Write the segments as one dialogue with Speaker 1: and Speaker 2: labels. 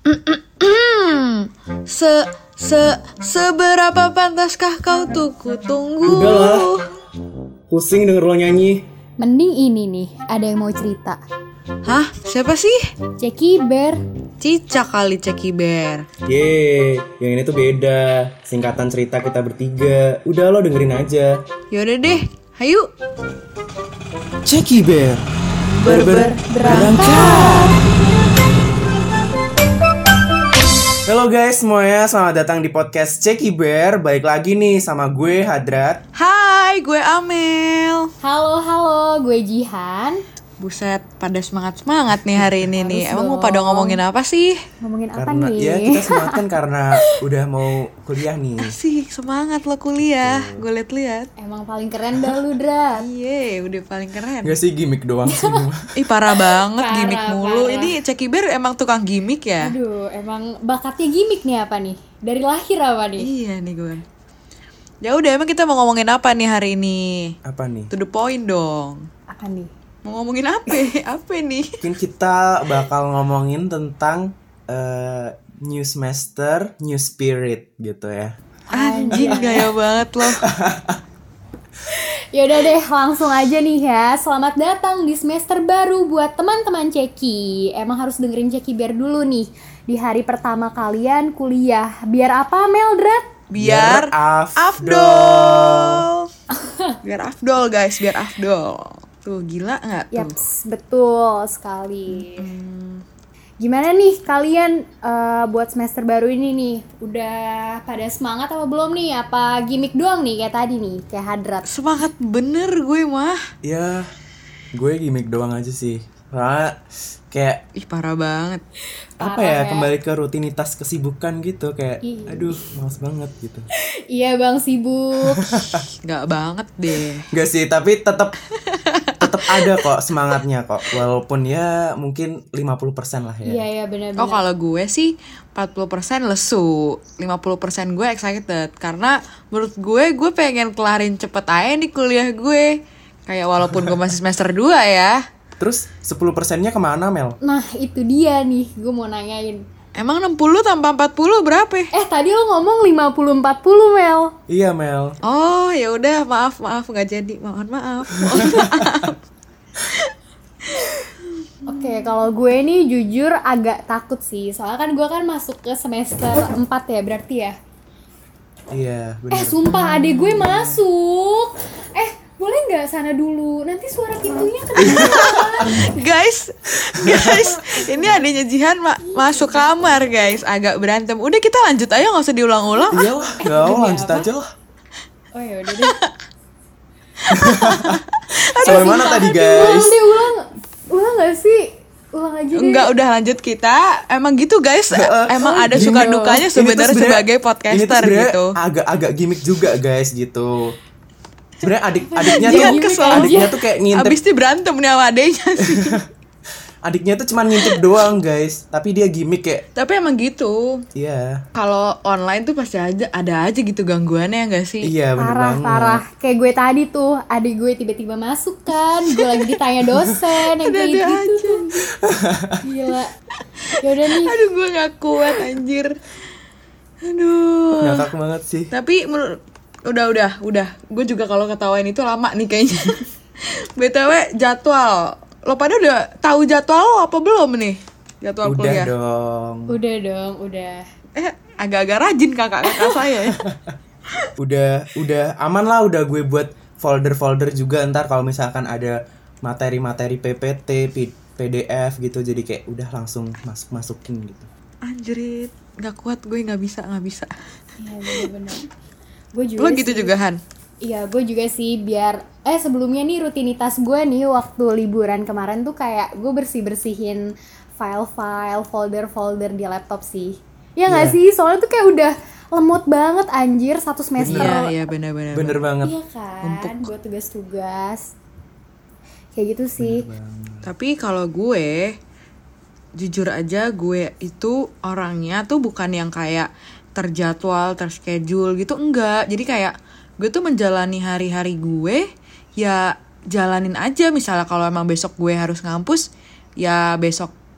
Speaker 1: Se seberapa pantaskah kau tuh kutunggu?
Speaker 2: Udahlah, pusing denger lo nyanyi.
Speaker 3: Mending ini nih, ada yang mau cerita.
Speaker 1: Hah? Siapa sih?
Speaker 3: Ceki Bear.
Speaker 1: Cica kali Ceki Bear.
Speaker 2: Yang ini tuh beda. Singkatan cerita kita bertiga. Udah lo dengerin aja.
Speaker 1: Yaudah deh, hayu.
Speaker 2: Ceki Bear
Speaker 3: Berangkat.
Speaker 2: Halo guys semuanya, selamat datang di podcast Ceki Bear. Balik lagi nih sama gue Hadrat.
Speaker 1: Hai, gue Amel.
Speaker 3: Halo, gue Jihan.
Speaker 1: Buset, pada semangat nih hari ini nih.
Speaker 3: Harus
Speaker 1: Emang mau
Speaker 3: dong.
Speaker 1: pada ngomongin apa sih?
Speaker 3: Ngomongin apa
Speaker 2: Karena
Speaker 3: nih?
Speaker 2: ya kita semangat kan karena udah mau kuliah nih.
Speaker 1: Asik, semangat lo kuliah. Gue liat-liat.
Speaker 3: Emang paling keren dah lu, Drat.
Speaker 1: Iye, udah paling keren.
Speaker 2: Gak sih gimmick doang sih.
Speaker 1: Ih, parah banget
Speaker 3: Parah,
Speaker 1: gimmick mulu.
Speaker 3: parah.
Speaker 1: Ini Ceki Bear emang tukang gimmick ya?
Speaker 3: Aduh, emang bakatnya gimmick nih apa nih? Dari lahir apa nih?
Speaker 1: Iya nih gue. Ya udah, emang kita mau ngomongin apa nih hari ini?
Speaker 2: Apa nih?
Speaker 1: To the point dong.
Speaker 3: Apa nih?
Speaker 1: Mau ngomongin apa? Apa nih?
Speaker 2: Mungkin kita bakal ngomongin tentang new semester, new spirit gitu ya.
Speaker 1: Anjing, gaya banget loh.
Speaker 3: Yaudah deh, langsung aja nih ya. Selamat datang di semester baru buat teman-teman Ceki. Emang harus dengerin Ceki Bear dulu nih di hari pertama kalian kuliah. Biar apa, Meldrat?
Speaker 1: Biar
Speaker 2: afdol.
Speaker 1: Biar afdol guys, biar afdol. Tuh gila nggak tuh?
Speaker 3: Yaps, betul sekali. Gimana nih kalian buat semester baru ini nih? Udah pada semangat apa belum nih? Apa gimmick doang nih kayak tadi nih, kayak Hadrat?
Speaker 1: Semangat bener gue mah.
Speaker 2: Ya, gue gimmick doang aja sih. Karena kayak
Speaker 1: Ih, parah banget.
Speaker 2: apa
Speaker 3: Parah
Speaker 2: ya,
Speaker 3: ya.
Speaker 2: kembali ke rutinitas kesibukan gitu. Kayak aduh males banget gitu.
Speaker 3: Iya bang, sibuk.
Speaker 1: Nggak banget deh.
Speaker 2: Gak sih, tapi tetap ada kok semangatnya kok. Walaupun ya mungkin 50% lah ya.
Speaker 3: Iya benar-benar.
Speaker 1: Oh, kalau gue sih 40% lesu, 50% gue excited. Karena menurut gue pengen kelarin cepet aja nih kuliah gue. Kayak walaupun gue masih semester 2 ya.
Speaker 2: Terus 10%-nya kemana, Mel?
Speaker 3: Nah itu dia nih, gue mau nanyain.
Speaker 1: Emang 60 tambah 40 berapa?
Speaker 3: Tadi lo ngomong 50-40 Mel.
Speaker 2: Iya, Mel.
Speaker 1: Oh, ya udah, maaf nggak jadi. Mohon maaf.
Speaker 3: Oke, kalau gue nih jujur agak takut sih. Soalnya kan gue kan masuk ke semester 4 ya berarti ya.
Speaker 2: Iya, benar.
Speaker 3: Sumpah adik gue masuk. Boleh nggak sana dulu? Nanti suara pintunya kedengeran.
Speaker 1: guys, ini adanya Jihan masuk kamar guys, agak berantem. Udah kita lanjut aja, nggak usah diulang-ulang.
Speaker 2: Iya lah, gak mau lanjut aja lah.
Speaker 3: Oh ya udah deh.
Speaker 2: Sampai mana tadi, guys?
Speaker 3: Ulang nggak sih? Ulang aja deh.
Speaker 1: Enggak, udah lanjut kita. Emang gitu guys, emang ada suka dukanya sebenarnya sebagai podcaster gitu.
Speaker 2: Agak gimmick juga guys gitu. Sebenarnya adiknya
Speaker 1: Jihan
Speaker 2: tuh
Speaker 1: kesel.
Speaker 2: adiknya tuh kayak ngintip.
Speaker 1: Abis itu berantem nih sama adenya sih.
Speaker 2: Adiknya tuh cuma ngintip doang guys, tapi dia gimmick kayak
Speaker 1: Tapi emang gitu.
Speaker 2: iya.
Speaker 1: Kalau online tuh pasti ada aja gitu gangguannya, nggak sih?
Speaker 2: Iya bener banget.
Speaker 3: Parah. Kayak gue tadi tuh, adik gue tiba-tiba masuk kan. Gue lagi ditanya dosen yang kayak
Speaker 1: Ada
Speaker 3: gitu. Gila. Yaudah nih.
Speaker 1: Aduh, gue nggak kuat anjir. Aduh.
Speaker 2: Ngakak banget sih.
Speaker 1: Tapi udah. Gue juga kalau ketawain itu lama nih kayaknya. BTW jadwal. Lo pada udah tahu jadwal lo apa belum nih? Jadwal
Speaker 2: Udah
Speaker 1: kuliah.
Speaker 2: dong.
Speaker 3: Udah.
Speaker 1: Agak-agak rajin kakak-kakak saya ya.
Speaker 2: Udah aman lah, udah gue buat folder juga ntar kalau misalkan ada materi-materi PPT, PDF gitu, jadi kayak udah langsung masukin gitu.
Speaker 1: Anjrit, nggak kuat gue, nggak bisa.
Speaker 3: Iya bener-bener. Gue juga
Speaker 1: Lo gitu
Speaker 3: sih.
Speaker 1: juga Han?
Speaker 3: Iya, gue juga sih biar sebelumnya nih rutinitas gue nih waktu liburan kemarin tuh kayak gue bersih-bersihin file-file, folder-folder di laptop sih. Ya nggak
Speaker 2: Iya.
Speaker 3: sih? Soalnya tuh kayak udah lemot banget anjir satu semester.
Speaker 1: Iya benar.
Speaker 2: Bener banget.
Speaker 3: Iya kan, buat tugas-tugas. Kayak gitu sih.
Speaker 1: Tapi kalau gue, jujur aja gue itu orangnya tuh bukan yang kayak terjadwal, terschedule gitu, enggak. Jadi kayak gue tuh menjalani hari-hari gue, ya jalanin aja. Misalnya kalau emang besok gue harus ngampus, ya besok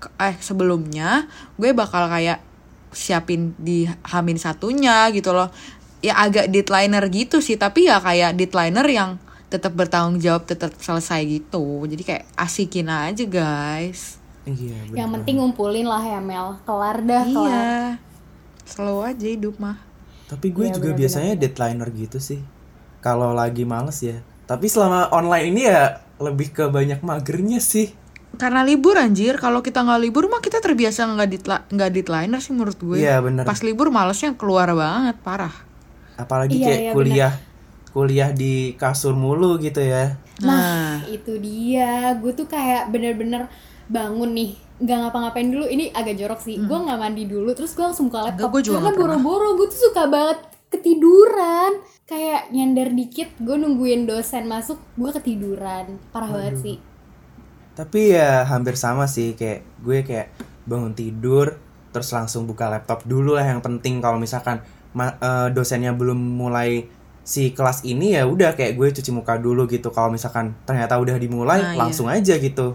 Speaker 1: sebelumnya gue bakal kayak siapin di Hamin satunya gitu loh. Ya agak deadlineer gitu sih, tapi ya kayak deadlineer yang tetap bertanggung jawab, tetap selesai gitu. Jadi kayak asikin aja guys.
Speaker 2: Iya, bener
Speaker 3: Yang penting
Speaker 2: banget.
Speaker 3: ngumpulin lah ya Mel. Kelar dah, kelar.
Speaker 1: Iya, slow aja hidup mah.
Speaker 2: Tapi gue
Speaker 3: Iya,
Speaker 2: juga
Speaker 3: bener,
Speaker 2: biasanya
Speaker 3: bener.
Speaker 2: deadlineer gitu sih. Kalau lagi males ya. Tapi selama online ini ya lebih ke banyak magernya sih.
Speaker 1: Karena libur anjir, kalau kita nggak libur mah kita terbiasa nggak deadlineer sih menurut gue.
Speaker 2: Iya, bener.
Speaker 1: Pas libur malesnya keluar banget, parah.
Speaker 2: Apalagi
Speaker 3: Iya,
Speaker 2: kayak
Speaker 3: iya,
Speaker 2: kuliah di kasur mulu gitu ya.
Speaker 3: Nah, itu dia. Gue tuh kayak bener-bener bangun nih, nggak ngapa-ngapain dulu. Ini agak jorok sih. Gue nggak mandi dulu, terus gue langsung buka laptop.
Speaker 1: gue juga
Speaker 3: Karena
Speaker 1: nggak pernah.
Speaker 3: boro-boro gue tuh suka banget ketiduran. Kayak nyender dikit, gue nungguin dosen masuk, gue ketiduran. Parah banget sih.
Speaker 2: Tapi ya hampir sama sih, kayak gue kayak bangun tidur terus langsung buka laptop dulu lah yang penting. Kalau misalkan dosennya belum mulai si kelas ini ya udah kayak gue cuci muka dulu gitu. Kalau misalkan ternyata udah dimulai
Speaker 1: Nah,
Speaker 2: langsung aja gitu.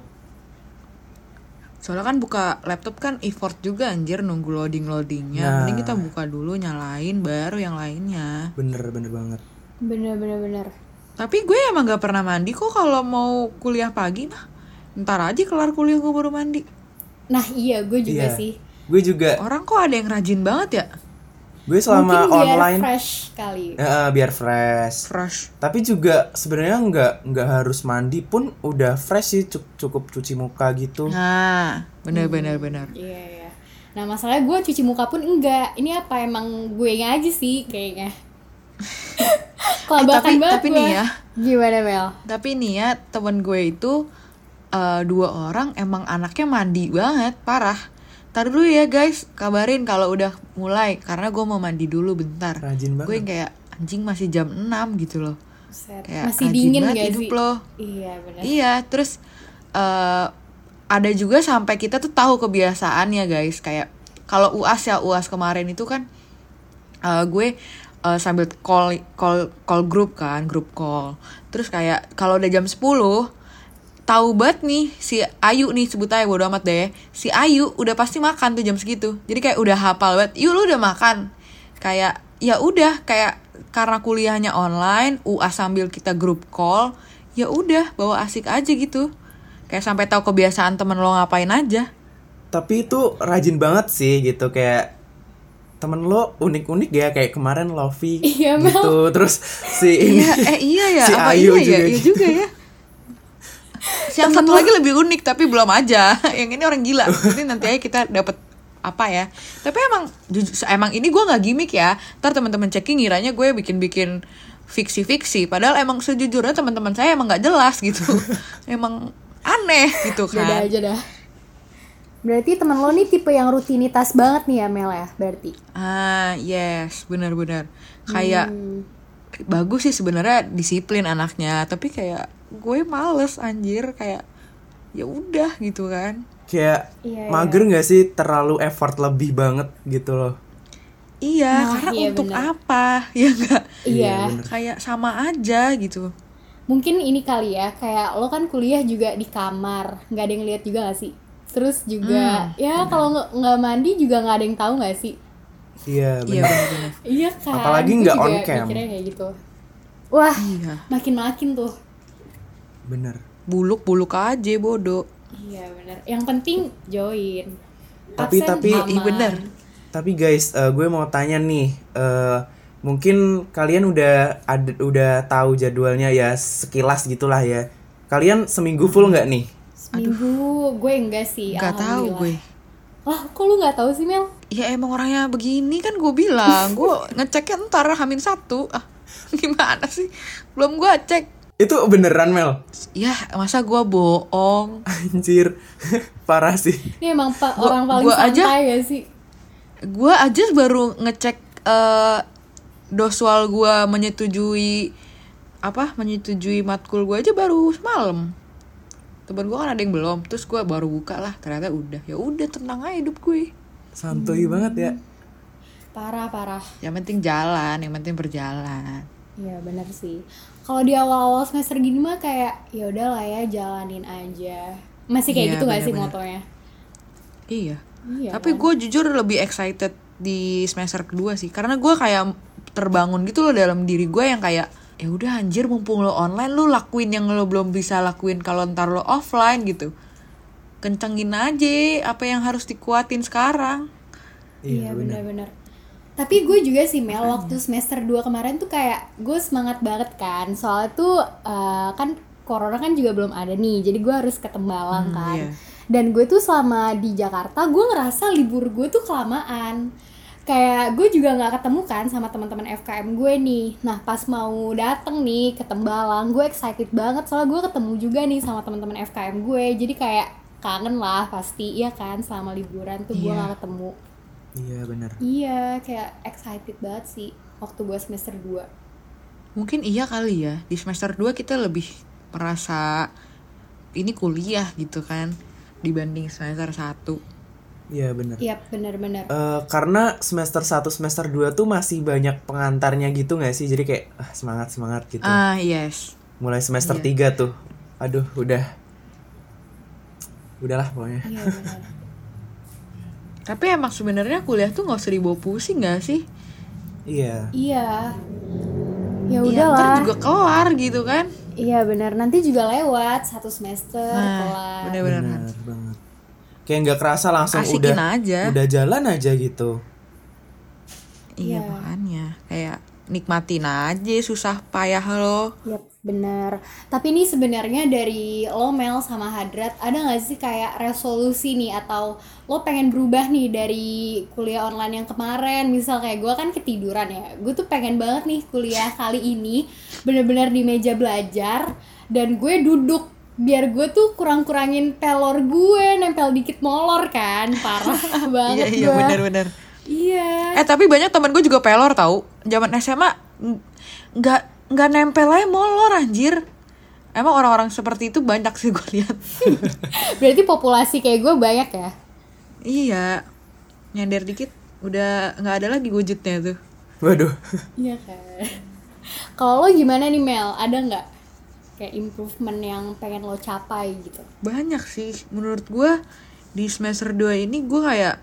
Speaker 1: Soalnya kan buka laptop kan effort juga anjir nunggu loadingnya.
Speaker 2: Nah.
Speaker 1: Mending kita buka dulu, nyalain, baru yang lainnya.
Speaker 2: Bener banget.
Speaker 3: Bener-bener.
Speaker 1: Tapi gue emang gak pernah mandi kok kalau mau kuliah pagi mah. Ntar aja kelar kuliah gue baru mandi.
Speaker 3: Nah iya, gue juga
Speaker 2: Iya.
Speaker 3: sih.
Speaker 2: Gue juga,
Speaker 1: Orang kok ada yang rajin banget ya?
Speaker 2: gue selama
Speaker 3: Mungkin biar
Speaker 2: online
Speaker 3: fresh kali.
Speaker 2: biar fresh.
Speaker 1: Fresh.
Speaker 2: Tapi juga sebenarnya nggak harus mandi pun udah fresh sih, cukup cuci muka gitu.
Speaker 1: Nah, bener.
Speaker 3: Iya, iya. Nah masalahnya gue cuci muka pun enggak. Ini apa emang gue aja sih kayaknya. Kelabakan banget
Speaker 1: tapi
Speaker 3: gue.
Speaker 1: nih ya.
Speaker 3: Gimana Mel?
Speaker 1: Tapi nih ya, temen gue itu 2 orang emang anaknya mandi banget, parah. Ntar dulu ya guys, kabarin kalau udah mulai. Karena gue mau mandi dulu bentar.
Speaker 2: Rajin banget.
Speaker 1: Gue kayak anjing masih jam 6 gitu loh.
Speaker 3: Buset.
Speaker 1: Kayak
Speaker 3: Masih
Speaker 1: rajin
Speaker 3: dingin
Speaker 1: banget
Speaker 3: gak
Speaker 1: hidup
Speaker 3: sih?
Speaker 1: lo.
Speaker 3: Iya benar.
Speaker 1: Iya, terus ada juga sampai kita tuh tahu kebiasaannya guys. Kayak kalau UAS kemarin itu kan gue sambil call grup kan, grup call. Terus kayak kalau udah jam 10 tahu banget nih si Ayu nih, sebut aja bodo amat deh. Si Ayu udah pasti makan tuh jam segitu. Jadi kayak udah hafal banget. Yuk lu udah makan. Kayak ya udah kayak karena kuliahnya online, UAS sambil kita grup call, ya udah bawa asik aja gitu. Kayak sampai tahu kebiasaan temen lo ngapain aja.
Speaker 2: Tapi itu rajin banget sih gitu, kayak temen lo unik-unik ya, kayak kemarin Lofi
Speaker 3: Iya, Mel.
Speaker 2: gitu. Terus si ini
Speaker 1: Iya ya,
Speaker 2: si
Speaker 1: apa
Speaker 2: Ayu
Speaker 1: iya ya?
Speaker 2: juga.
Speaker 1: Iya juga ya. Yang satu lagi lebih unik tapi belum aja. Yang ini orang gila. Jadi nanti aja kita dapat apa ya. Tapi emang ini gue nggak gimmick ya. Ntar teman-teman checking ngiranya gue bikin fiksi-fiksi. Padahal emang sejujurnya teman-teman saya emang nggak jelas gitu. Emang aneh gitu
Speaker 3: Beda
Speaker 1: kan.
Speaker 3: aja dah. Berarti temen lo nih tipe yang rutinitas banget nih ya Mel ya berarti.
Speaker 1: Yes, benar-benar. Kayak bagus sih sebenarnya disiplin anaknya, tapi kayak gue males anjir, kayak ya udah gitu kan.
Speaker 2: kayak
Speaker 3: Iya,
Speaker 2: mager nggak sih, terlalu effort lebih banget gitu loh.
Speaker 1: Iya,
Speaker 3: Nah,
Speaker 1: karena
Speaker 3: iya
Speaker 1: untuk
Speaker 3: bener.
Speaker 1: apa? Ya enggak.
Speaker 3: Iya.
Speaker 2: bener.
Speaker 1: Kayak sama aja gitu.
Speaker 3: Mungkin ini kali ya, kayak lo kan kuliah juga di kamar, nggak ada yang lihat juga gak sih? Terus juga, ya kalau nggak mandi juga nggak ada yang tahu nggak sih?
Speaker 2: Iya
Speaker 1: Iya
Speaker 2: benar.
Speaker 1: benar-benar.
Speaker 3: Iya kan.
Speaker 2: Apalagi
Speaker 3: Gue
Speaker 2: nggak
Speaker 3: juga
Speaker 2: on cam.
Speaker 3: mikirnya kayak gitu. Wah,
Speaker 1: Iya.
Speaker 3: makin tuh.
Speaker 2: Bener.
Speaker 1: Buluk-buluk aja bodoh.
Speaker 3: Iya benar. Yang penting join.
Speaker 2: Tapi-
Speaker 3: Absen
Speaker 2: tapi-
Speaker 3: aman.
Speaker 1: Iya bener.
Speaker 2: Tapi guys, gue mau tanya nih, mungkin kalian udah tahu jadwalnya ya, sekilas gitulah ya. Kalian seminggu full nggak nih?
Speaker 3: Seminggu gue enggak sih.
Speaker 1: Nggak tahu gue.
Speaker 3: Alhamdulillah. Lah, kok lu nggak tahu sih Mel?
Speaker 1: Ya emang orangnya begini kan gue bilang. Gue ngeceknya ntar H-1. Gimana sih? Belum gue cek.
Speaker 2: Itu beneran Mel?
Speaker 1: Ya masa gue bohong.
Speaker 2: Anjir, parah sih.
Speaker 3: Ini emang orang paling
Speaker 1: gua aja-
Speaker 3: santai gak sih?
Speaker 1: Gue aja baru ngecek doswal gue menyetujui matkul gue aja baru semalam. Temen gue kan ada yang belum, terus gue baru buka lah, ternyata udah. Ya udah, tenang aja hidup gue.
Speaker 2: Santuy banget ya.
Speaker 3: Parah.
Speaker 1: Yang penting jalan, yang penting berjalan.
Speaker 3: Iya benar sih. Kalau di awal-awal semester gini mah kayak ya udahlah ya jalanin aja. Masih kayak
Speaker 1: Iya,
Speaker 3: gitu gak sih
Speaker 1: bener-bener.
Speaker 3: motonya?
Speaker 1: Iya.
Speaker 3: Iya
Speaker 1: Tapi
Speaker 3: kan?
Speaker 1: gue jujur lebih excited di semester kedua sih, karena gue kayak terbangun gitu loh dalam diri gue yang kayak ya udah anjir, mumpung lo online lu lakuin yang lo belum bisa lakuin kalau ntar lo offline gitu. Kencengin aja apa yang harus dikuatin sekarang.
Speaker 3: Iya benar-benar. Tapi gue juga sih Mel, waktu semester 2 kemarin tuh kayak gue semangat banget kan. Soalnya tuh kan corona kan juga belum ada nih, jadi gue harus ke Tembalang kan.
Speaker 1: Iya.
Speaker 3: Dan gue tuh selama di Jakarta gue ngerasa libur gue tuh kelamaan. Kayak gue juga nggak ketemu kan sama teman-teman FKM gue nih. Nah pas mau dateng nih ke Tembalang, gue excited banget soalnya gue ketemu juga nih sama teman-teman FKM gue. Jadi kayak kangen lah pasti, iya kan, selama liburan tuh gue
Speaker 1: Iya.
Speaker 3: nggak ketemu.
Speaker 2: Iya benar.
Speaker 3: Iya, kayak excited banget sih waktu gue semester 2.
Speaker 1: Mungkin iya kali ya, di semester 2 kita lebih merasa ini kuliah gitu kan dibanding semester 1.
Speaker 2: Iya benar.
Speaker 3: Iya, benar-benar.
Speaker 2: Karena semester 1 semester 2 tuh masih banyak pengantarnya gitu gak sih? Jadi kayak semangat gitu.
Speaker 1: Yes.
Speaker 2: Mulai semester
Speaker 1: Iya.
Speaker 2: 3 tuh. Aduh, udahlah pokoknya.
Speaker 3: Iya, benar.
Speaker 1: Tapi emang sebenarnya kuliah tuh nggak usah dibawa pusing nggak sih?
Speaker 2: Iya.
Speaker 3: Iya. Ya
Speaker 1: Iya,
Speaker 3: udahlah.
Speaker 1: ntar juga kelar gitu kan?
Speaker 3: Iya, benar. Nanti juga lewat satu semester kelar.
Speaker 1: Nah, bener-bener.
Speaker 2: Benar banget. Kayak nggak kerasa langsung
Speaker 1: Asikin
Speaker 2: udah
Speaker 1: aja.
Speaker 2: udah jalan aja gitu.
Speaker 1: Iya,
Speaker 3: Iya.
Speaker 1: makanya kayak nikmatin aja susah payah lo.
Speaker 3: Yap, benar. Tapi ini sebenarnya dari lo Mel sama Hadrat, ada nggak sih kayak resolusi nih atau lo pengen berubah nih dari kuliah online yang kemarin? Misal kayak gue kan ketiduran ya, gue tuh pengen banget nih kuliah kali ini bener-bener di meja belajar dan gue duduk biar gue tuh kurang-kurangin pelor gue, nempel dikit molor kan, parah banget
Speaker 1: Iya,
Speaker 3: gue.
Speaker 1: bener-bener.
Speaker 3: Iya.
Speaker 1: Tapi banyak teman gue juga pelor tahu. Zaman SMA nggak nempel aja molor anjir. Emang orang-orang seperti itu banyak sih gue lihat.
Speaker 3: Berarti populasi kayak gue banyak ya?
Speaker 1: Iya. Nyender dikit udah nggak ada lagi wujudnya tuh.
Speaker 2: Waduh.
Speaker 3: Iya kan. Kalau lo gimana nih Mel? Ada nggak kayak improvement yang pengen lo capai gitu?
Speaker 1: Banyak sih. Menurut gue di semester 2 ini gue kayak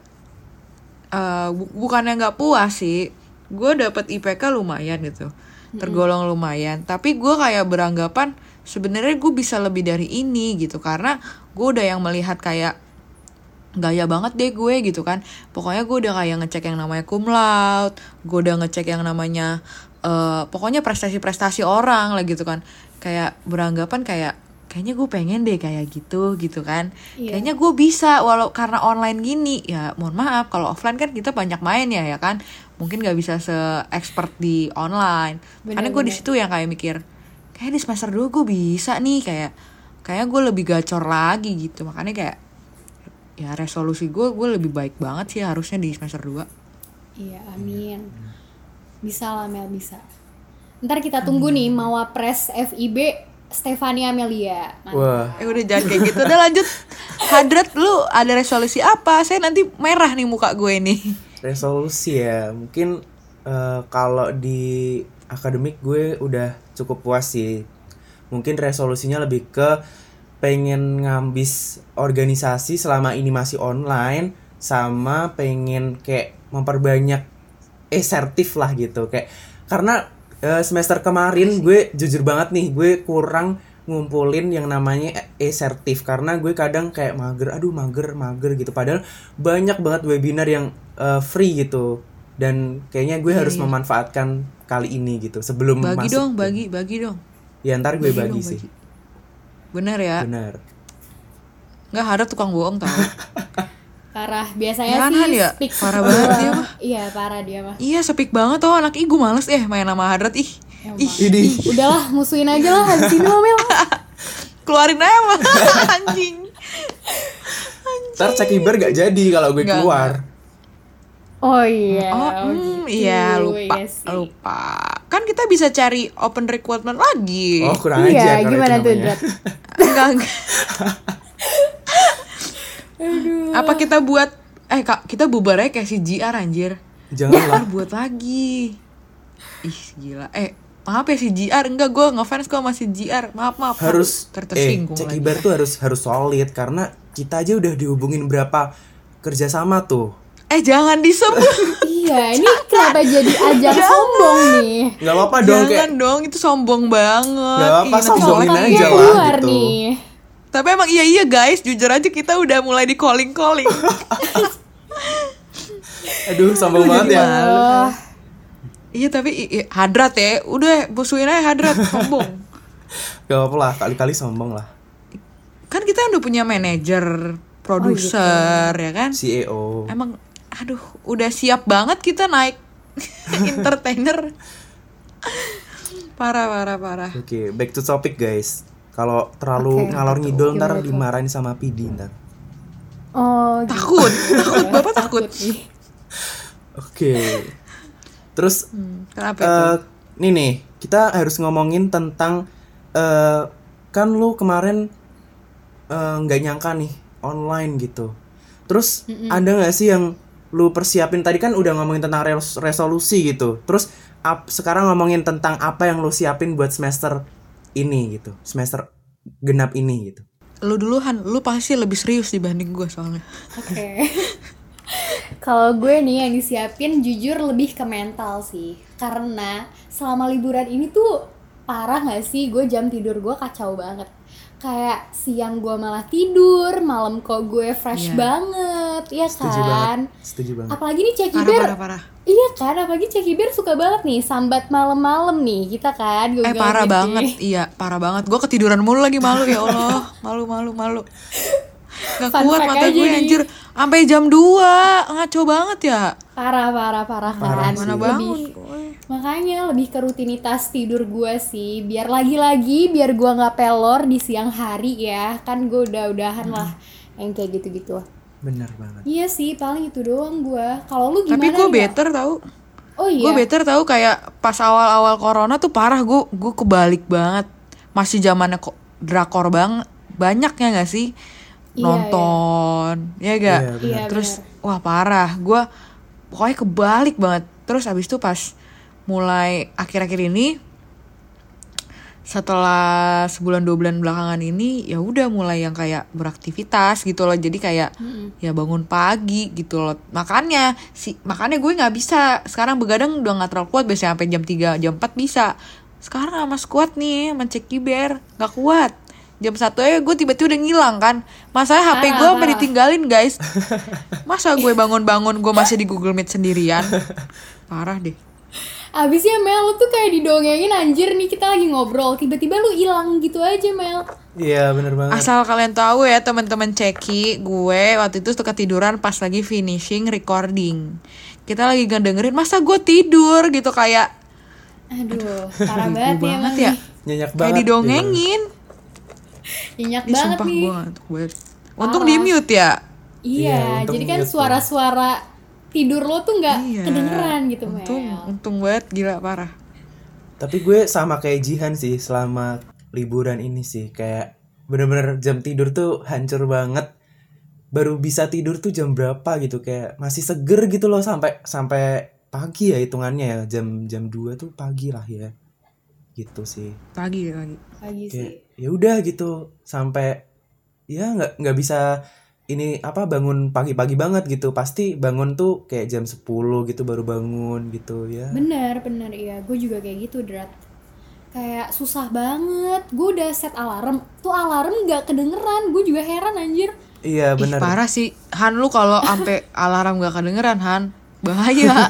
Speaker 1: bukannya nggak puas sih. Gue dapet IPK lumayan gitu. Tergolong lumayan. Tapi gue kayak beranggapan sebenarnya gue bisa lebih dari ini gitu. Karena gue udah yang melihat kayak gaya banget deh gue gitu kan. Pokoknya gue udah kayak ngecek yang namanya cum laude, gue udah ngecek yang namanya pokoknya prestasi-prestasi orang lah gitu kan. Kayak beranggapan kayaknya gue pengen deh kayak gitu kan.
Speaker 3: Iya.
Speaker 1: Kayaknya gue bisa walau karena online gini. Ya mohon maaf kalau offline kan kita banyak main ya kan. Mungkin gak bisa se-expert di online. Karena gue di situ yang kayak mikir kayak di semester 2 gue bisa nih, kayak gue lebih gacor lagi gitu. Makanya kayak ya resolusi gue lebih baik banget sih harusnya di semester 2.
Speaker 3: Iya, amin. Bisa lah Mel, bisa. Ntar kita tunggu nih Mawapres FIB Stefania Amelia.
Speaker 2: Wah.
Speaker 1: Udah jangan kayak gitu. Udah lanjut. Hadrat, lu ada resolusi apa? Saya nanti merah nih muka gue nih.
Speaker 2: Resolusi ya. Mungkin kalau di akademik gue udah cukup puas sih. Mungkin resolusinya lebih ke pengen ngambis organisasi selama ini masih online, sama pengen kayak memperbanyak e-sertif lah gitu. Kayak karena semester kemarin gue jujur banget nih, gue kurang ngumpulin yang namanya e-sertif karena gue kadang kayak mager gitu. Padahal banyak banget webinar yang free gitu. Dan kayaknya gue harus memanfaatkan kali ini gitu sebelum
Speaker 1: Bagi
Speaker 2: masuk.
Speaker 1: dong, bagi dong.
Speaker 2: Ya ntar gue
Speaker 1: Bagi
Speaker 2: bagi
Speaker 1: dong,
Speaker 2: sih.
Speaker 1: Bener ya?
Speaker 2: Benar.
Speaker 1: Nggak, Hadrat tukang bohong tau.
Speaker 3: Parah, biasanya
Speaker 1: Jangan
Speaker 3: sih
Speaker 1: ya,
Speaker 3: speak
Speaker 1: parah
Speaker 3: semua.
Speaker 1: banget dia mah.
Speaker 3: Iya, parah dia mah.
Speaker 1: Iya, sepik banget tuh anak gue males main sama Hadrat ih.
Speaker 2: Ini
Speaker 3: Udahlah, musuhin aja lah habis ini lo Mel.
Speaker 1: Keluarin aja mah anjing.
Speaker 2: ntar Cekiber gak jadi kalau gue
Speaker 1: Nggak,
Speaker 2: keluar.
Speaker 3: Oh iya.
Speaker 1: Oh,
Speaker 3: gitu.
Speaker 1: iya lupa.
Speaker 3: Iya sih.
Speaker 1: Lupa. Kan kita bisa cari open recruitment lagi.
Speaker 2: Oh kurang
Speaker 3: Iya,
Speaker 2: aja kalau
Speaker 3: gimana
Speaker 2: itu
Speaker 3: tuh,
Speaker 2: namanya.
Speaker 3: Drat?
Speaker 1: Enggak. Apa kita buat Kak, kita bubar aja kayak si JR anjir.
Speaker 2: Janganlah.
Speaker 1: Buat lagi. Ih, gila. Maaf ya si JR, enggak, gue ngefans kok sama si JR. Maaf.
Speaker 2: Harus
Speaker 1: tersinggung lagi.
Speaker 2: Cekiber tuh harus solid karena kita aja udah dihubungin berapa kerjasama tuh.
Speaker 1: Jangan disebut.
Speaker 3: Iya, ini kenapa jadi ajang sombong nih?
Speaker 2: Nggak apa-apa dong,
Speaker 1: Jangan
Speaker 2: kayak
Speaker 1: dong, itu sombong banget.
Speaker 2: nggak apa-apa,
Speaker 1: Ih, nanti
Speaker 2: sombongin
Speaker 1: soalnya-
Speaker 2: aja lah
Speaker 3: keluar
Speaker 2: gitu.
Speaker 3: nih.
Speaker 1: Tapi emang iya guys, jujur aja kita udah mulai di calling.
Speaker 2: Aduh, sombong banget ya.
Speaker 3: Oh,
Speaker 1: Iya tapi hadrat ya, udah musuhin aja hadrat sombong.
Speaker 2: Gak apa-apa lah, kali-kali sombong lah.
Speaker 1: Kan kita udah punya manajer, produser ya kan.
Speaker 2: CEO.
Speaker 1: Emang aduh udah siap banget kita naik entertainer. Parah.
Speaker 2: Oke, back to topic guys. Kalau terlalu
Speaker 3: Oke,
Speaker 2: ngalor ngidul ntar
Speaker 3: Gimana tuh?
Speaker 2: dimarahin sama PD ntar.
Speaker 3: oh gitu.
Speaker 1: Takut, Bapak takut.
Speaker 3: nih.
Speaker 2: Oke. Terus
Speaker 1: Kenapa itu?
Speaker 2: nih nih, kita harus ngomongin tentang kan lu kemarin nggak nyangka nih online gitu. Terus ada nggak sih yang lu persiapin? Tadi kan udah ngomongin tentang resolusi gitu. Terus sekarang ngomongin tentang apa yang lu siapin buat semester ini gitu, semester genap ini gitu.
Speaker 1: Lu duluan, lu pasti lebih serius dibanding gue soalnya.
Speaker 3: Oke. Kalau gue nih yang disiapin jujur lebih ke mental sih. Karena selama liburan ini tuh parah gak sih, gue jam tidur gue kacau banget. Kayak siang gue malah tidur, malam kok gue fresh
Speaker 1: Iya.
Speaker 3: banget, ya
Speaker 2: Setuju
Speaker 3: kan?
Speaker 2: banget. Setuju banget.
Speaker 3: Apalagi nih Cekiber,
Speaker 1: Parah.
Speaker 3: iya kan? Apalagi Cekiber suka banget nih sambat malam-malam nih kita kan.
Speaker 1: Parah banget, iya parah banget. Gue ketiduran mulu lagi, malu ya Allah, malu. Gak
Speaker 3: Fun
Speaker 1: kuat
Speaker 3: fact
Speaker 1: mata
Speaker 3: aja
Speaker 1: gue
Speaker 3: nih.
Speaker 1: anjir, sampai jam 2 ngaco banget ya.
Speaker 3: Parah
Speaker 2: Parah
Speaker 3: kan.
Speaker 2: sih.
Speaker 1: Mana bangun
Speaker 3: Lebih-
Speaker 1: gue.
Speaker 3: Makanya lebih ke rutinitas tidur gue sih. Biar gue gak pelor di siang hari ya. Kan gue udah-udahan lah yang kayak gitu-gitu.
Speaker 2: Bener banget.
Speaker 3: Iya sih, paling itu doang gue. Kalau lu gimana?
Speaker 1: Tapi gue
Speaker 3: nih, Mel?
Speaker 1: better tahu.
Speaker 3: Oh iya.
Speaker 1: Gue better tahu kayak pas awal-awal corona tuh parah, gue kebalik banget. Masih zamannya kok drakor banyak ya nggak sih?
Speaker 3: Iya,
Speaker 1: Nonton, ya gak?
Speaker 2: Iya,
Speaker 3: benar. Iya,
Speaker 1: Terus wah parah, gue pokoknya kebalik banget. Terus abis itu pas mulai akhir-akhir ini, setelah sebulan 2 bulan belakangan ini, ya udah mulai yang kayak beraktivitas gitu loh. Jadi kayak ya bangun pagi gitu loh. Makanya gue nggak bisa sekarang begadang, udah nggak terlalu kuat. Biasanya sampai jam 3 jam 4 bisa. Sekarang sama squad nih, mencek kiber nggak kuat. Jam 1 aja gue tiba-tiba udah ngilang kan. Masalahnya HP gue sampai ditinggalin guys. Masa gue bangun-bangun gue masih di Google Meet sendirian. Parah deh.
Speaker 3: Abisnya Mel, lu tuh kayak didongengin anjir nih, kita lagi ngobrol. Tiba-tiba lu hilang gitu aja Mel.
Speaker 2: Iya, bener banget.
Speaker 1: Asal kalian tahu ya teman-teman Ceki, gue waktu itu suka ketiduran pas lagi finishing recording. Kita lagi ngedengerin, masa gue tidur gitu kayak
Speaker 3: Aduh, parah banget ya emang
Speaker 1: ya.
Speaker 3: nih.
Speaker 2: Nyenyak
Speaker 1: Kayak
Speaker 2: banget.
Speaker 1: didongengin.
Speaker 3: Nyenyak
Speaker 1: Ih,
Speaker 3: banget
Speaker 1: sumpah
Speaker 3: nih.
Speaker 1: gue ngantuk banget. Untung di mute ya.
Speaker 3: Iya,
Speaker 2: untung
Speaker 3: jadi kan
Speaker 2: mute
Speaker 3: suara-suara tidur lo tuh nggak
Speaker 1: Iya.
Speaker 3: kedengeran gitu Mel.
Speaker 1: Untung banget, gila parah.
Speaker 2: Tapi gue sama kayak Jihan sih selama liburan ini sih. Kayak bener-bener jam tidur tuh hancur banget. Baru bisa tidur tuh jam berapa gitu. Kayak masih seger gitu loh sampai pagi ya hitungannya ya. Jam 2 tuh pagi lah ya. Gitu sih.
Speaker 1: Pagi.
Speaker 3: Pagi sih.
Speaker 2: Kayak ya udah gitu sampai ya nggak bisa ini apa bangun pagi-pagi banget gitu. Pasti bangun tuh kayak jam 10 gitu baru bangun gitu ya.
Speaker 3: Bener iya, gue juga kayak gitu Drat. Kayak susah banget. Gue udah set alarm, tuh alarm nggak kedengeran. Gue juga heran anjir.
Speaker 2: Iya
Speaker 1: Ih,
Speaker 2: benar.
Speaker 1: parah sih. Han, lu kalau sampai alarm gak kedengeran, Han, bahaya.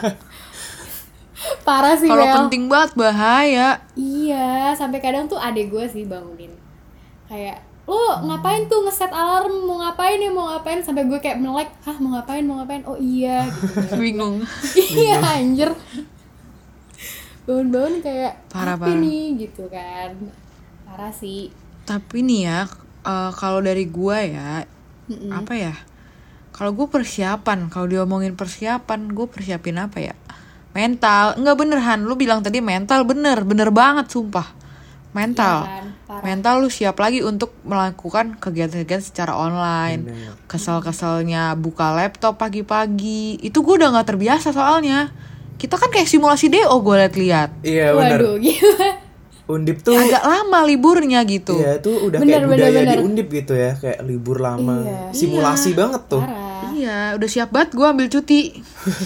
Speaker 3: Parah sih
Speaker 1: Kalau
Speaker 3: Mel.
Speaker 1: penting banget bahaya.
Speaker 3: Iya, sampai kadang tuh adek gue sih bangunin. Kayak, lo ngapain tuh ngeset alarm, mau ngapain sampai gue kayak melek, hah mau ngapain, oh iya gitu.
Speaker 1: Bingung.
Speaker 3: Iya anjir. Bangun-bangun kayak
Speaker 1: Parah,
Speaker 3: apa
Speaker 1: parah.
Speaker 3: nih gitu kan. Parah sih.
Speaker 1: Tapi nih ya, kalau dari gue ya, apa ya? Kalau gue persiapan, kalau diomongin persiapan, gue persiapin apa ya? Mental, enggak bener Han, lu bilang tadi mental, bener banget sumpah. Mental,
Speaker 3: Iya kan? Parah.
Speaker 1: mental lu siap lagi untuk melakukan kegiatan-kegiatan secara online.
Speaker 2: Bener.
Speaker 1: Kesel-keselnya buka laptop pagi-pagi, itu gue udah nggak terbiasa soalnya. Kita kan kayak simulasi DO gue liat-liat.
Speaker 2: Iya benar.
Speaker 3: Waduh gila.
Speaker 2: Undip tuh
Speaker 1: Agak lama liburnya gitu.
Speaker 2: iya tuh udah
Speaker 3: Bener,
Speaker 2: kayak budaya
Speaker 3: bener.
Speaker 2: di Undip gitu ya, kayak libur lama.
Speaker 3: Iya.
Speaker 2: Simulasi banget tuh.
Speaker 3: Parah.
Speaker 1: Iya, Iya, udah siap banget gue ambil cuti.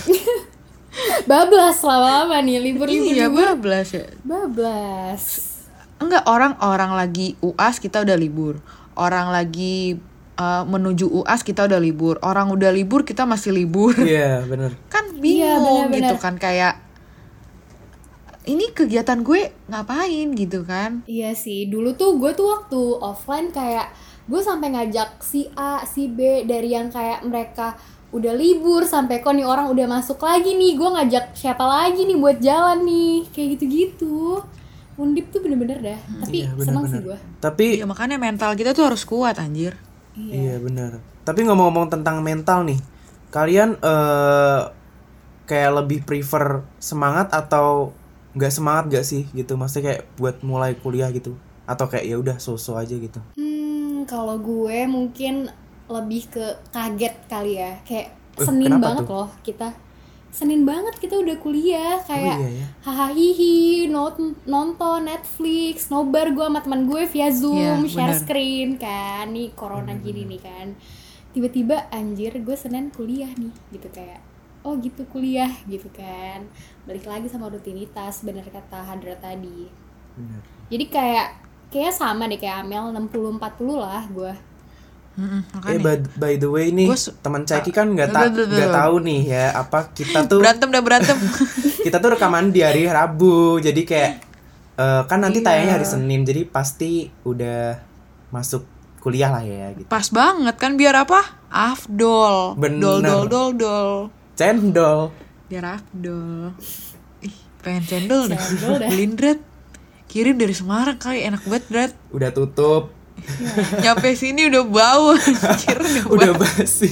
Speaker 3: Bablas lama-lama nih libur-libur.
Speaker 1: Iya, bablas ya.
Speaker 3: Bablas.
Speaker 1: Enggak, orang lagi UAS kita udah libur. Orang lagi menuju UAS kita udah libur. Orang udah libur kita masih libur.
Speaker 2: Iya, bener.
Speaker 1: Kan
Speaker 3: Iya,
Speaker 1: bingung
Speaker 3: bener-bener.
Speaker 1: gitu kan, kayak ini kegiatan gue ngapain gitu kan.
Speaker 3: Iya sih, dulu tuh gue tuh waktu offline kayak gue sampai ngajak si A, si B dari yang kayak mereka udah libur sampai kok nih orang udah masuk lagi nih, gue ngajak siapa lagi nih buat jalan nih, kayak gitu-gitu. Undip tuh bener-bener dah, tapi
Speaker 2: Iya,
Speaker 3: seneng sih
Speaker 2: bener-bener.
Speaker 3: gue.
Speaker 2: Tapi
Speaker 1: Ya makanya mental kita tuh harus kuat anjir.
Speaker 2: iya benar. Tapi ngomong-ngomong tentang mental nih, kalian kayak lebih prefer semangat atau nggak semangat gak sih gitu? Maksudnya kayak buat mulai kuliah gitu? Atau kayak ya udah so-so aja gitu?
Speaker 3: Kalau gue mungkin lebih ke kaget kali ya, kayak
Speaker 2: Kenapa
Speaker 3: Senin banget
Speaker 2: tuh?
Speaker 3: loh kita. Senin banget kita udah kuliah kayak
Speaker 2: iya ya?
Speaker 3: hahaha nonton Netflix, nobar gue sama teman gue via Zoom,
Speaker 1: Iya,
Speaker 3: share
Speaker 1: benar.
Speaker 3: screen kan, nih corona gini nih kan. Tiba-tiba anjir gue Senin kuliah nih gitu kayak oh gitu kuliah gitu kan. Balik lagi sama rutinitas bener kata Hadra tadi.
Speaker 2: Bener.
Speaker 3: Jadi kayak sama deh kayak Amel 60-40 lah gue.
Speaker 1: Makanya
Speaker 2: By the way nih,
Speaker 1: Gua
Speaker 2: teman Caki kan nggak tahu nih ya apa kita tuh
Speaker 1: berantem
Speaker 2: kita tuh rekaman di hari Rabu, jadi kayak kan nanti
Speaker 1: Iya.
Speaker 2: tayangnya hari Senin, jadi pasti udah masuk kuliah lah ya gitu.
Speaker 1: pas banget kan, biar apa? Afdol.
Speaker 2: Bener.
Speaker 1: Dol.
Speaker 2: Cendol.
Speaker 1: Biar afdol. Ih, pengen cendol dah.
Speaker 3: Cendol dah.
Speaker 1: Beliin Drat. Kirim dari Semarang kali, enak banget Drat.
Speaker 2: Udah tutup,
Speaker 1: Nyampe sini udah bau anjir,
Speaker 2: udah basi.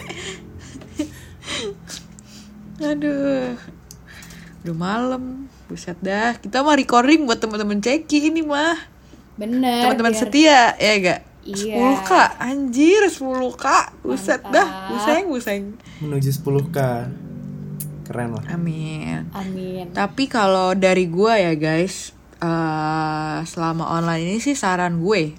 Speaker 1: Aduh. Udah malam. Buset dah. Kita mah recording buat teman-teman Ceki ini mah.
Speaker 3: Bener.
Speaker 1: Teman-teman
Speaker 3: biar-
Speaker 1: setia, ya enggak?
Speaker 3: Iya.
Speaker 1: 10k, anjir 10k. Buset dah, buseng.
Speaker 2: Menuju 10K. Keren lah.
Speaker 1: Amin.
Speaker 3: Amin.
Speaker 1: Tapi kalau dari gua ya guys, selama online ini sih saran gue,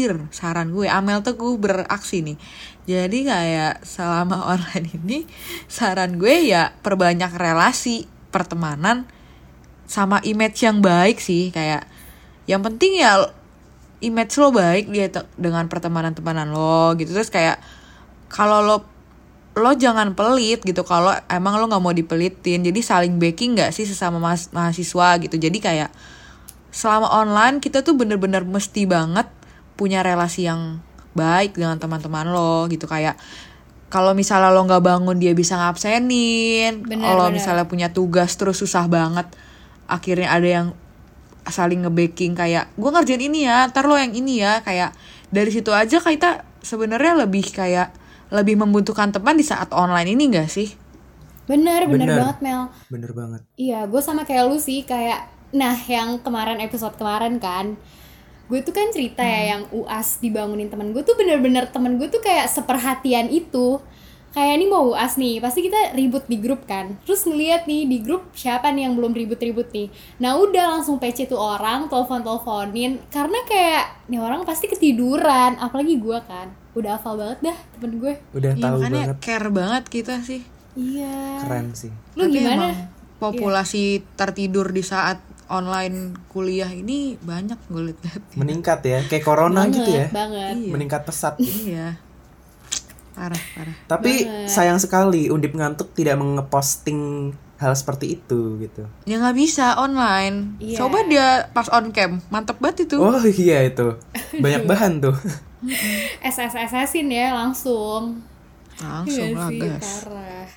Speaker 1: Amel Teguh beraksi nih. Jadi kayak selama online ini saran gue ya perbanyak relasi, pertemanan, sama image yang baik sih. Kayak yang penting ya image lo baik dia dengan pertemanan-temanan lo gitu. Terus kayak kalau lo jangan pelit gitu, kalau emang lo nggak mau dipelitin. Jadi saling backing nggak sih sesama mahasiswa gitu. Jadi kayak selama online kita tuh bener-bener mesti banget punya relasi yang baik dengan teman-teman lo gitu. Kayak kalau misalnya lo nggak bangun dia bisa ngabsenin. Kalau misalnya punya tugas terus susah banget, akhirnya ada yang saling nge-backing kayak gue ngerjain ini ya, ntar lo yang ini ya. Kayak dari situ aja kita sebenarnya lebih membutuhkan teman di saat online ini gak sih?
Speaker 3: Bener
Speaker 2: Bener.
Speaker 3: banget Mel.
Speaker 2: Bener banget.
Speaker 3: Iya, gue sama kayak lu sih kayak nah yang kemarin episode kemarin kan gue tuh kan cerita ya yang UAS dibangunin temen gue tuh bener-bener temen gue tuh kayak seperhatian itu. Kayak ini mau UAS nih, pasti kita ribut di grup kan. Terus ngeliat nih di grup siapa nih yang belum ribut-ribut nih. Nah udah langsung PC tuh orang, telepon-teleponin. Karena kayak nih orang pasti ketiduran, apalagi gue kan. Udah hafal banget dah temen gue.
Speaker 2: Udah
Speaker 1: Iya,
Speaker 2: tahu
Speaker 1: makanya
Speaker 2: banget.
Speaker 1: care banget kita sih.
Speaker 3: Iya.
Speaker 2: Keren sih.
Speaker 3: Lu
Speaker 1: Tapi
Speaker 3: gimana?
Speaker 1: emang populasi tertidur di saat online kuliah ini banyak gue lihat.
Speaker 2: Meningkat ya, kayak corona gitu ya.
Speaker 3: Banget.
Speaker 1: Iya.
Speaker 2: Meningkat pesat.
Speaker 1: Iya. Parah.
Speaker 2: Tapi sayang sekali Undip Ngantuk tidak ngeposting hal seperti itu gitu.
Speaker 1: Ya nggak bisa online.
Speaker 3: Iya.
Speaker 1: Coba dia pas on cam, mantep banget itu.
Speaker 2: Oh iya itu. Banyak bahan tuh.
Speaker 3: SSSSin ya langsung.
Speaker 1: Langsung
Speaker 3: Iya
Speaker 1: lah
Speaker 3: sih,
Speaker 1: guys.
Speaker 3: parah.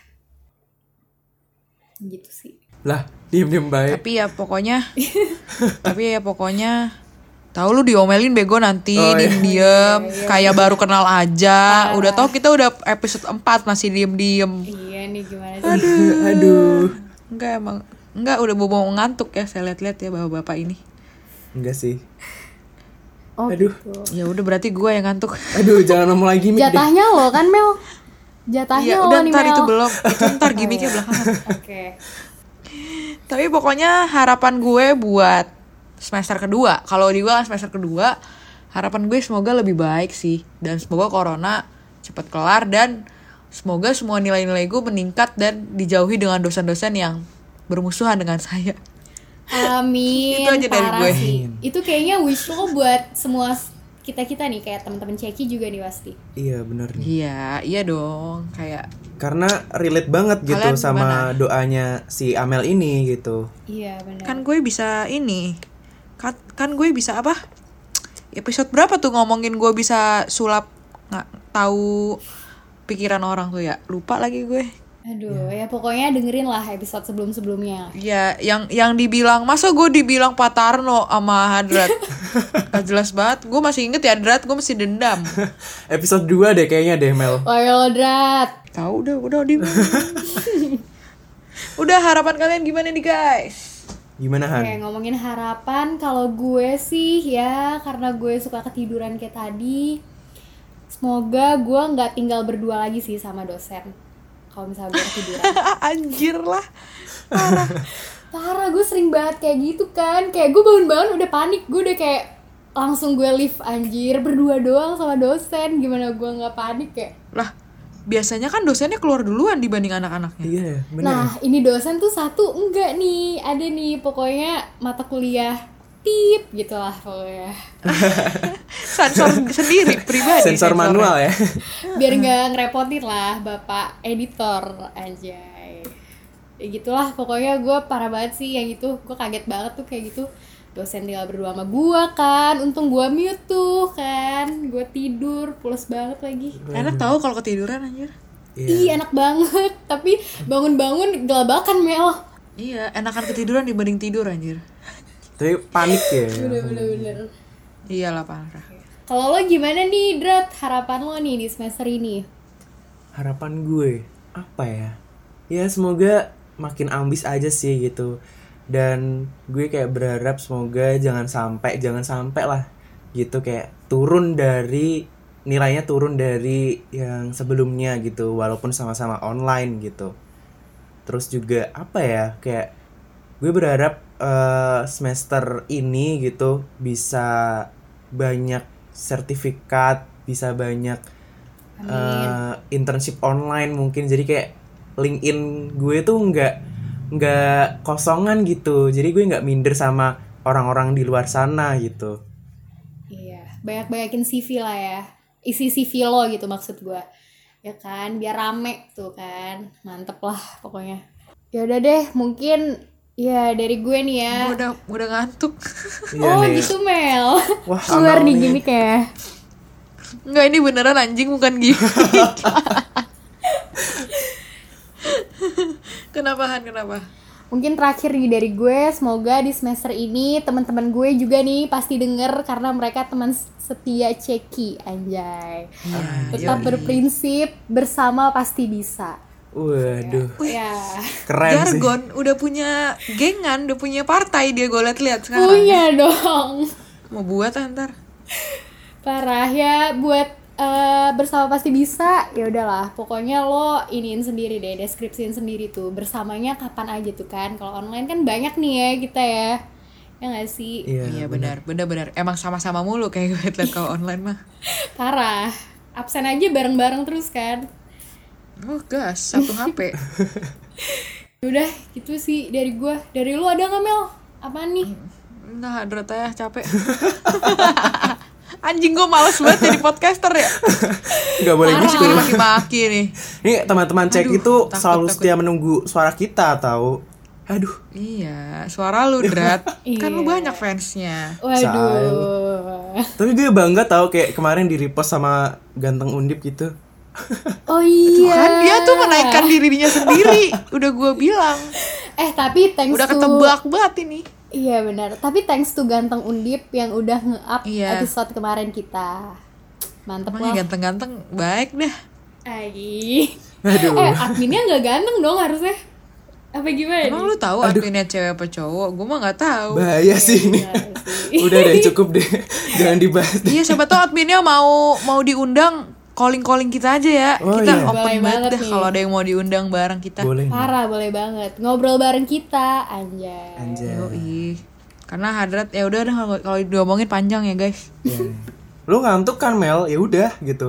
Speaker 3: Gitu sih.
Speaker 2: Lah, diem-diem baik.
Speaker 1: Tapi ya pokoknya tahu lu diomelin bego nanti,
Speaker 2: Oh, iya.
Speaker 1: diem kayak baru kenal aja. Udah tahu kita udah episode 4 masih diem.
Speaker 3: Iya nih gimana sih?
Speaker 2: Aduh.
Speaker 1: Enggak udah bobo ngantuk ya, saya lihat-lihat ya bapak-bapak ini.
Speaker 2: Enggak sih.
Speaker 3: Oh
Speaker 2: Aduh.
Speaker 3: gitu.
Speaker 1: Ya udah berarti gue yang ngantuk.
Speaker 2: Aduh, jangan ngomong lagi gimmick deh.
Speaker 3: Jatahnya lo kan Mel? Jatahnya
Speaker 1: Iya,
Speaker 3: lo
Speaker 1: udah
Speaker 3: nih
Speaker 1: ntar
Speaker 3: Mel.
Speaker 1: itu belum. Itu ntar gimmicknya belakangan.
Speaker 3: Oke.
Speaker 1: Tapi pokoknya harapan gue buat semester kedua, kalau di gue kan semester kedua, harapan gue semoga lebih baik sih. Dan semoga corona cepet kelar dan semoga semua nilai-nilai gue meningkat dan dijauhi dengan dosen-dosen yang bermusuhan dengan saya.
Speaker 3: Amin.
Speaker 1: Itu aja dari
Speaker 3: parah
Speaker 1: gue.
Speaker 3: sih. Itu kayaknya wish lo buat semua kita nih, kayak teman-teman Ceki juga nih pasti.
Speaker 2: Iya bener nih.
Speaker 1: Iya dong, kayak
Speaker 2: Karena relate banget gitu
Speaker 1: Kalian
Speaker 2: sama doanya si Amel ini gitu.
Speaker 3: Iya benar.
Speaker 1: kan gue bisa ini. Kan gue bisa apa? Episode berapa tuh ngomongin gue bisa sulap nggak tahu pikiran orang tuh ya? Lupa lagi gue.
Speaker 3: Aduh, ya pokoknya dengerin lah episode sebelum-sebelumnya.
Speaker 1: Ya, yang dibilang, masa gue dibilang Pak Tarno sama Hadrat? Gak jelas banget. Gue masih inget ya Hadrat, gue masih dendam.
Speaker 2: Episode 2 deh kayaknya deh Mel.
Speaker 3: Oil Drat.
Speaker 1: Tahu udah di. Udah, harapan kalian gimana nih guys?
Speaker 2: Gimana Han?
Speaker 3: Oke, ngomongin harapan, kalau gue sih ya karena gue suka ketiduran kayak tadi, semoga gue nggak tinggal berdua lagi sih sama dosen. Kalau misalnya gue ketiduran.
Speaker 1: Anjir lah.
Speaker 3: Parah, gue sering banget kayak gitu kan. Kayak gue bangun-bangun udah panik, gue udah kayak langsung gue leave anjir, berdua doang sama dosen. Gimana gue nggak panik ya?
Speaker 1: Lah, biasanya kan dosennya keluar duluan dibanding anak-anaknya.
Speaker 2: Iya bener.
Speaker 3: Nah, ini dosen tuh satu enggak nih, ada nih pokoknya mata kuliah tip gitu lah pokoknya.
Speaker 1: Sensor sendiri pribadi.
Speaker 2: Sensor manual ya.
Speaker 3: Biar nggak ngerepotin lah bapak editor anjay. Ya gitulah pokoknya gue parah banget sih yang itu. Gue kaget banget tuh kayak gitu. Dosen tinggal berdua sama gue kan. Untung gue mute tuh kan. Gue tidur pules banget lagi.
Speaker 1: Enak tahu kalau ketiduran anjir.
Speaker 3: Ih enak banget. Tapi bangun-bangun gelabakan Mel.
Speaker 1: Iya, enakan ketiduran dibanding tidur anjir.
Speaker 2: Tapi panik ya.
Speaker 3: Bener-bener.
Speaker 1: Iyalah parah.
Speaker 3: Kalau lo gimana nih Drat? Harapan lo nih di semester ini?
Speaker 2: Harapan gue apa ya? Ya semoga makin ambis aja sih gitu. Dan gue kayak berharap semoga jangan sampai lah gitu, kayak nilainya turun dari yang sebelumnya gitu, walaupun sama-sama online gitu. Terus juga apa ya, kayak gue berharap semester ini gitu bisa banyak sertifikat, bisa banyak internship online mungkin. Jadi kayak LinkedIn gue tuh nggak kosongan gitu. Jadi gue nggak minder sama orang-orang di luar sana gitu.
Speaker 3: Iya, banyak-banyakin CV lah ya. Isi CV lo gitu maksud gue. Ya kan, biar rame tuh kan. Mantep lah pokoknya. Ya udah deh, mungkin ya dari gue nih ya.
Speaker 1: Udah ngantuk.
Speaker 3: Oh
Speaker 2: nih.
Speaker 3: gitu Mel.
Speaker 2: Wah,
Speaker 3: Keluar
Speaker 2: Amel
Speaker 3: nih
Speaker 2: nih.
Speaker 3: gimmick ya.
Speaker 1: Enggak, ini beneran anjing bukan gitu. Kenapa Han?
Speaker 3: Mungkin terakhir nih dari gue, semoga di semester ini teman-teman gue juga nih pasti denger karena mereka teman setia Ceki anjay. Tetap berprinsip, bersama pasti bisa.
Speaker 2: Waduh,
Speaker 3: Ya.
Speaker 2: keren sih.
Speaker 1: Jargon udah punya gengan, udah punya partai dia, gue liat sekarang.
Speaker 3: Punya dong.
Speaker 1: Mau buat ntar.
Speaker 3: Parah ya, buat bersama pasti bisa. Ya udahlah, pokoknya lo iniin sendiri deh, deskripsiin sendiri tuh bersamanya kapan aja tuh kan. Kalau online kan banyak nih ya kita ya. Ya nggak sih?
Speaker 1: Iya benar. Emang sama-sama mulu kayak gue liat kalau online mah.
Speaker 3: Parah. Absen aja bareng-bareng terus kan.
Speaker 1: Oh gas, satu HP.
Speaker 3: Udah, gitu sih dari gua. Dari lu ada nggak Mel? Apaan nih?
Speaker 1: Nah, Hadrat ya capek. Anjing, gue males banget jadi podcaster ya.
Speaker 2: Nggak boleh
Speaker 1: Parah,
Speaker 2: gitu.
Speaker 1: jadi maki-maki nih.
Speaker 2: Ini teman-teman cek
Speaker 1: Aduh,
Speaker 2: itu
Speaker 1: takut.
Speaker 2: selalu setia menunggu suara kita tahu. Aduh,
Speaker 1: Iya, suara lu Drat. Kan lu
Speaker 3: Iya.
Speaker 1: banyak fansnya.
Speaker 3: Waduh.
Speaker 2: tapi gue bangga tahu kayak kemarin di repost sama Ganteng Undip gitu.
Speaker 3: Oh iya.
Speaker 1: Kan dia tuh menaikkan dirinya sendiri. Udah gue bilang.
Speaker 3: Tapi thanks
Speaker 1: Udah
Speaker 3: to
Speaker 1: ketebak banget ini.
Speaker 3: Iya benar. Tapi thanks to Ganteng Undip yang udah nge-up
Speaker 1: Iya.
Speaker 3: episode kemarin kita. Mantep
Speaker 1: Emang
Speaker 3: lah.
Speaker 1: ganteng-ganteng baik dah.
Speaker 3: Ai.
Speaker 2: Aduh.
Speaker 3: Adminnya nggak ganteng dong harusnya. Apa gimana?
Speaker 1: Emang lu tahu adminnya cewek apa cowok? Gue mah nggak tahu.
Speaker 2: Bahaya sih ini. Udah deh, cukup deh. Jangan dibahas deh.
Speaker 1: Iya, siapa tahu adminnya mau diundang, calling kita aja ya.
Speaker 2: Oh,
Speaker 1: Kita
Speaker 2: iya.
Speaker 1: open
Speaker 3: Boleh
Speaker 1: banget
Speaker 3: banget
Speaker 1: deh
Speaker 3: nih.
Speaker 1: kalau ada yang mau diundang bareng kita.
Speaker 2: Boleh nih.
Speaker 3: Parah, boleh banget. Ngobrol bareng kita, anjay.
Speaker 2: Anjay.
Speaker 1: Yoi. Karena Hadrat ya udah kalau diomongin panjang ya guys.
Speaker 2: Ya. Lu ngantuk kan Mel? Ya udah gitu.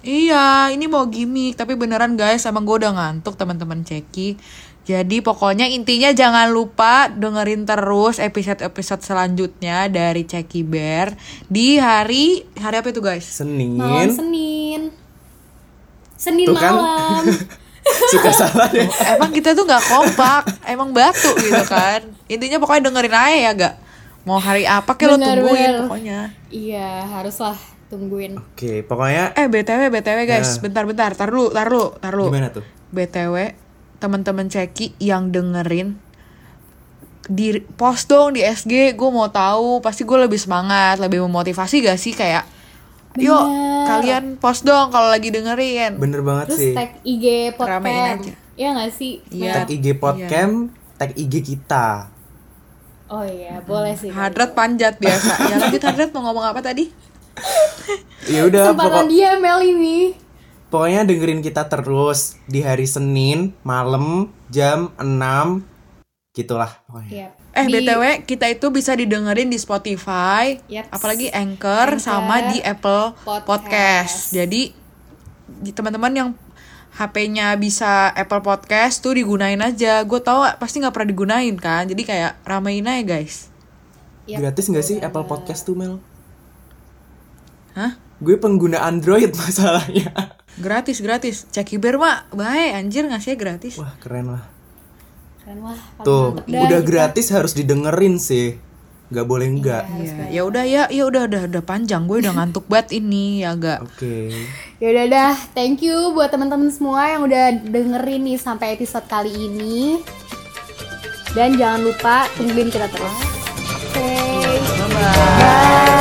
Speaker 1: Iya, ini mau gimmick, tapi beneran guys, emang gue udah ngantuk teman-teman Ceki. Jadi pokoknya intinya jangan lupa dengerin terus episode-episode selanjutnya dari Ceki Bear di hari apa itu guys?
Speaker 3: Malam
Speaker 2: Senin.
Speaker 3: Senin
Speaker 2: Tuh kan?
Speaker 3: malam.
Speaker 2: Suka salah deh.
Speaker 1: Emang kita tuh nggak kompak, emang batu gitu kan. Intinya pokoknya dengerin aja ya gak. Mau hari apa kayak lo
Speaker 3: Bener,
Speaker 1: tungguin
Speaker 3: bener.
Speaker 1: pokoknya.
Speaker 3: Iya, haruslah tungguin.
Speaker 2: Oke, pokoknya
Speaker 1: BTW guys,
Speaker 2: Ya.
Speaker 1: bentar, tar lu.
Speaker 2: gimana tuh?
Speaker 1: BTW, teman-teman Ceki yang dengerin di post dong di SG, gue mau tahu, pasti gue lebih semangat, lebih memotivasi gak sih kayak yuk
Speaker 3: Bener.
Speaker 1: kalian post dong kalau lagi dengerin.
Speaker 2: Bener banget
Speaker 3: Terus
Speaker 2: sih.
Speaker 3: tag IG
Speaker 1: Ramein
Speaker 3: podcast.
Speaker 1: aja.
Speaker 3: Iya gak sih?
Speaker 1: Iya.
Speaker 2: Tag IG podcast, tag IG kita.
Speaker 3: Oh iya, boleh sih.
Speaker 1: Hadrat panjat biasa. Ya lanjut Hadrat, mau ngomong apa tadi?
Speaker 2: Ya udah,
Speaker 3: Kesempatan dia Mel ini.
Speaker 2: pokoknya dengerin kita terus di hari Senin malam jam 6 gitulah pokoknya.
Speaker 3: Yap.
Speaker 1: BTW kita itu bisa didengerin di Spotify,
Speaker 3: Yaps.
Speaker 1: apalagi Anchor sama di Apple Podcast. Jadi teman-teman yang HP-nya bisa Apple Podcast tuh digunain aja. Gue tau pasti nggak pernah digunain kan. Jadi kayak ramein aja guys.
Speaker 3: Yap,
Speaker 2: Gratis nggak sih
Speaker 3: betul
Speaker 2: Apple
Speaker 3: banget.
Speaker 2: Podcast tuh Mel?
Speaker 1: Hah?
Speaker 2: Gue pengguna Android masalahnya.
Speaker 1: Gratis. Ceki Bear mah baik anjir ngasihnya gratis.
Speaker 2: Wah keren lah.
Speaker 3: Keren lah. paling
Speaker 2: Tuh
Speaker 3: mantep dah
Speaker 2: udah
Speaker 3: kita.
Speaker 2: gratis harus didengerin sih. Nggak boleh enggak.
Speaker 1: Iya, ya udah panjang. Gue udah ngantuk banget ini ya gak.
Speaker 2: Oke.
Speaker 3: Ya udah dah, thank you buat teman-teman semua yang udah dengerin nih sampai episode kali ini. Dan jangan lupa tungguin kita terus. Oke.
Speaker 1: Bye.
Speaker 3: Bye.